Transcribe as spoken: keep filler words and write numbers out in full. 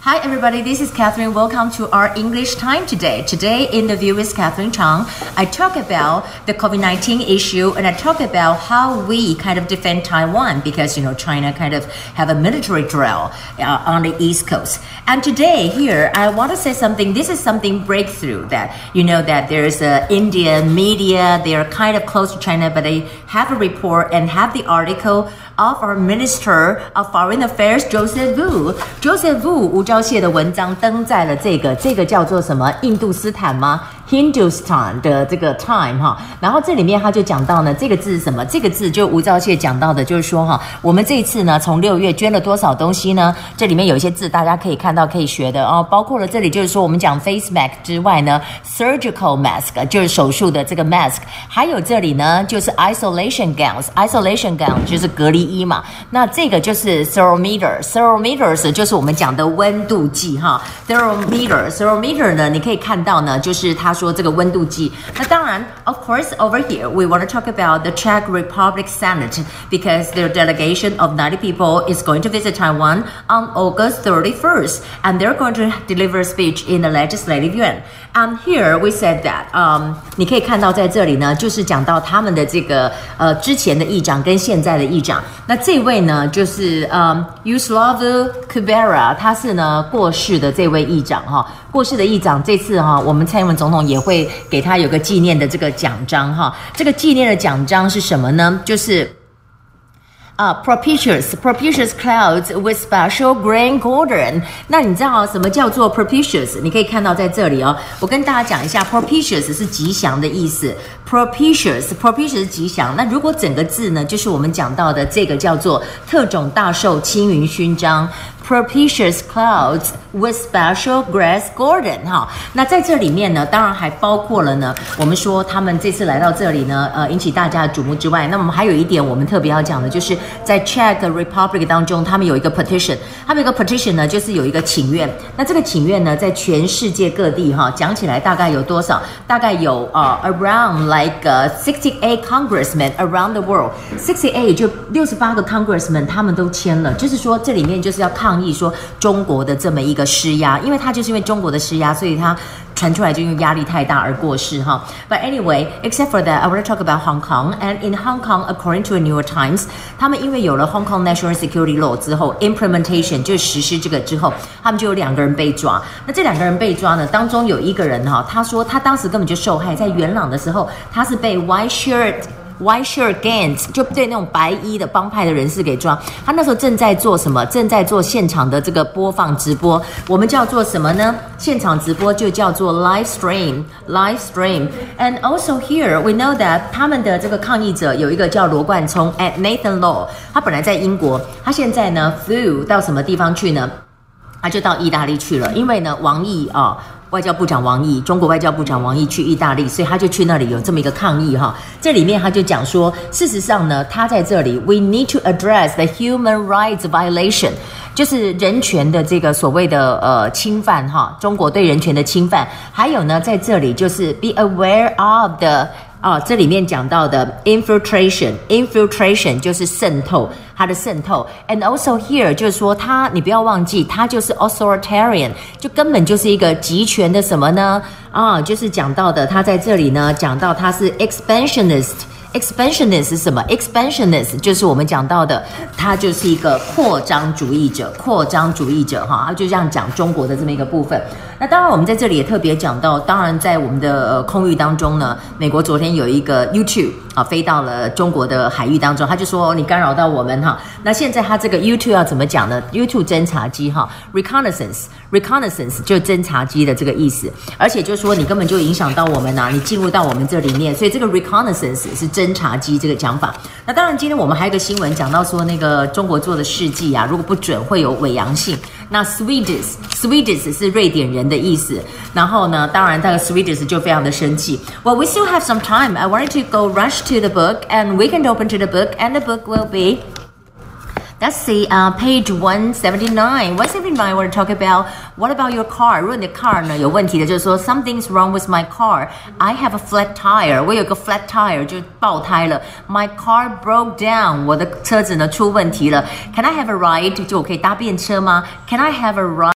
Hi everybody, this is Catherine. Welcome to our English time today. Today interview with Catherine Chang. I talk about the COVID nineteen issue and I talk about how we kind of defend Taiwan because, you know, China kind of have a military drill uh, on the East Coast. And today here, I want to say something. This is something breakthrough that, you know, that there's a Indian media. They are kind of close to China, but they have a report and have the article of our Minister of Foreign Affairs, Joseph Wu. Joseph Wu 吴钊燮的文章登在了这个这个叫做什么印度斯坦吗 Hindustan 的这个 Time 哈，然后这里面他就讲到呢，这个字是什么？这个字就吴钊燮讲到的，就是说哈，我们这一次呢，从六月捐了多少东西呢？这里面有一些字大家可以看到可以学的哦，包括了这里就是说我们讲 face mask 之外呢 ，surgical mask 就是手术的这个 mask， 还有这里呢就是 isolation gowns，isolation gown 就是隔离衣嘛，那这个就是 thermometer，thermometers 就是我们讲的温度计哈 ，thermometer，thermometer 呢，你可以看到呢，就是他说这个温度计。那当然 ，of course over here we want to talk about the Czech Republic Senate because their delegation of ninety people is going to visit Taiwan on August thirty-first, and they're going to deliver a speech in the Legislative Yuan. And here we said that, um, 你可以看到在这里呢，就是讲到他们的这个呃之前的议长跟现在的议长。那这位呢，就是嗯 Yugoslav Kubera， 他是呢过世的这位议长哈，过世的议长这次哈，我们蔡英文总统也会给他有个纪念的这个奖章哈。这个纪念的奖章是什么呢？就是啊、uh, ，propitious propitious clouds with special grain cordon。那你知道什么叫做 propitious？ 你可以看到在这里哦。我跟大家讲一下 ，propitious 是吉祥的意思。propitious propitious 是吉祥。那如果整个字呢，就是我们讲到的这个叫做特种大绶青云勋章。propitious clouds with special grass garden 哈，那在这里面呢，当然还包括了呢，我们说他们这次来到这里呢，呃，引起大家的瞩目之外，那我们还有一点我们特别要讲的，就是在 Czech Republic 当中，他们有一个 petition， 他们有一个 petition 呢，就是有一个请愿，那这个请愿呢，在全世界各地哈，讲起来大概有多少？大概有呃 around like uh, sixty-eight congressmen around the world，sixty-eight 就六十八个 congressmen 他们都签了，就是说这里面就是要抗议说中国的这么一个施压，因为他就是因为中国的施压，所以他传出来就因为压力太大而过世哈。But anyway, except for that, I want to talk about Hong Kong. And in Hong Kong, according to the New York Times, 他们因为有了 Hong Kong National Security Law 之后 ，implementation 就是实施这个之后，他们就有两个人被抓。那这两个人被抓呢，当中有一个人哈，他说他当时根本就受害，在元朗的时候，他是被 white shirt。White shirt gangs 就对那种白衣的帮派的人士给抓，他那时候正在做什么？正在做现场的这个播放直播，我们叫做什么呢？现场直播就叫做 live stream，live stream。And also here we know that 他们的这个抗议者有一个叫罗冠聪 ，at Nathan Law， 他本来在英国，他现在呢 flew 到什么地方去呢？他就到意大利去了，因为呢王毅啊。外交部长王毅，中国外交部长王毅去意大利，所以他就去那里有这么一个抗议哈。这里面他就讲说，事实上呢，他在这里 ，we need to address the human rights violation， 就是人权的这个所谓的呃侵犯哈，中国对人权的侵犯。还有呢，在这里就是 be aware of the 啊，这里面讲到的 infiltration， infiltration 就是渗透，它的渗透 ，and also here 就是说它，你不要忘记，它就是 authoritarian， 就根本就是一个集权的什么呢？啊，就是讲到的，它在这里呢讲到它是 expansionist。expansionist 是什么 ？expansionist 就是我们讲到的，他就是一个扩张主义者，扩张主义者哈，他就这样讲中国的这么一个部分。那当然，我们在这里也特别讲到，当然在我们的、呃、空域当中呢，美国昨天有一个 U 二 啊飞到了中国的海域当中，他就说你干扰到我们哈。那现在他这个 U 二 要怎么讲呢 ？U 二 侦察机哈 ，reconnaissance reconnaissance 就是侦察机的这个意思，而且就是说你根本就影响到我们呐、啊，你进入到我们这里面，所以这个 reconnaissance 是侦察机这个讲法。那当然，今天我们还有一个新闻讲到说，那个中国做的试剂啊，如果不准会有伪阳性。那 Swedish Swedish 是瑞典人的意思，然后呢，当然，那个 Swedish 就非常的生气。Well, we still have some time. I wanted to go rush to the book, and we can open to the book, and the book will be. Let's see, uh, page one seventy-nine. one seventy-nine, I want to talk about what about your car? 如果你的 car 呢有问题的，就是说 something's wrong with my car. I have a flat tire. 我有个 flat tire 就爆胎了。My car broke down. 我的车子呢出问题了。Can I have a ride? 就我可以搭便车吗？ Can I have a ride?